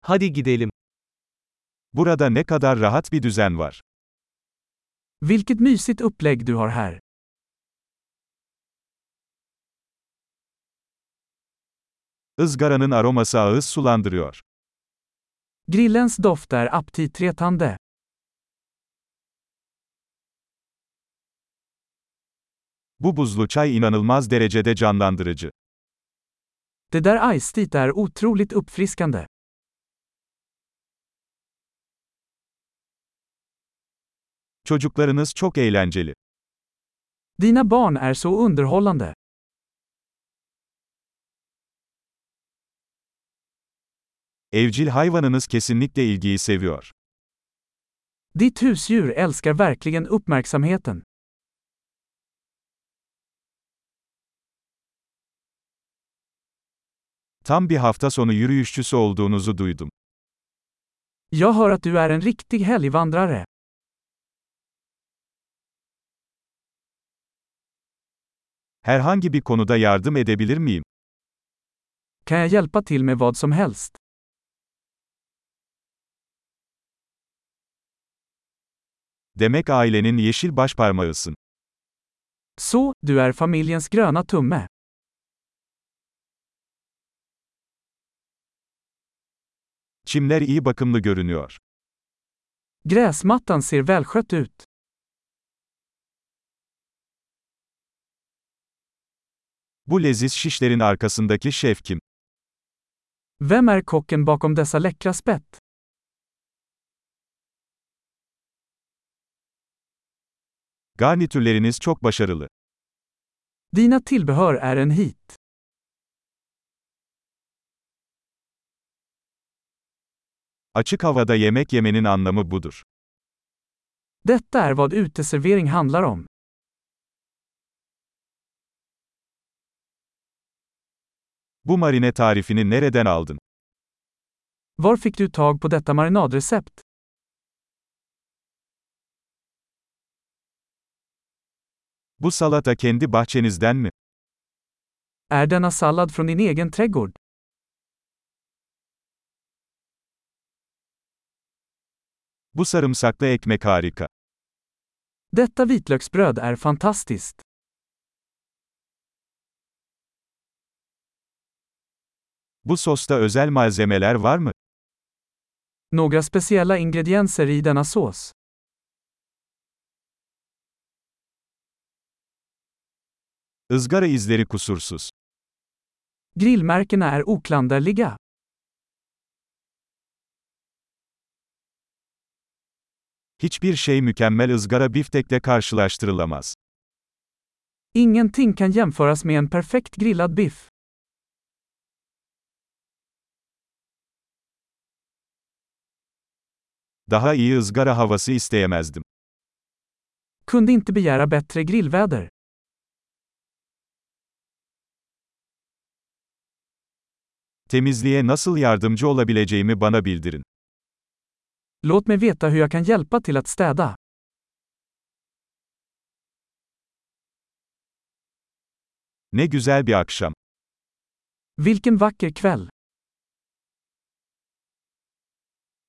Hadi gidelim. Burada ne kadar rahat bir düzen var. Vilket mysigt upplägg du har här. Izgaranın aroması ağız sulandırıyor. Grillens doft är aptitretande. Bu buzlu çay inanılmaz derecede canlandırıcı. Det där iced är otroligt uppfriskande. Çocuklarınız çok eğlenceli. Dina barn är så underhållande. Evcil hayvanınız kesinlikle ilgiyi seviyor. Ditt husdjur älskar verkligen uppmärksamheten. Tam bir hafta sonu yürüyüşçüsü olduğunuzu duydum. Jag hör att du är en riktig helgvandrare. Herhangi bir konuda yardım edebilir miyim? Kan jag hjälpa till med vad som helst? Demek ailenin yeşil başparmağısın. Så, du är familjens gröna tumme. Çimler iyi bakımlı görünüyor. Gräsmattan ser välskött ut. Bu leziz şişlerin arkasındaki şef kim? Vem är kocken bakom dessa läckra spett? Garnitürleriniz çok başarılı. Dina tillbehör är en hit. Açık havada yemek yemenin anlamı budur. Detta är vad uteservering handlar om. Bu marine tarifini nereden aldın? Var fick du tag på detta marinadrecept? Bu salata kendi bahçenizden mi? Är denna sallad från din egen trädgård? Bu sarımsaklı ekmek harika. Detta vitlöksbröd är fantastiskt. Bu sosta özel malzemeler var mı? Några speciella ingredienser i denna sås. Izgara izleri kusursuz. Grillmärkena är oklanderliga. Hiçbir şey mükemmel ızgara biftekle karşılaştırılamaz. Ingenting kan jämföras med en perfekt grillad biff. Daha iyi ızgara havası isteyemezdim. Kunde inte begära bättre grillväder. Temizliğe nasıl yardımcı olabileceğimi bana bildirin. Låt mig veta hur jag kan hjälpa till att städa. Ne güzel bir akşam. Vilken vacker kväll.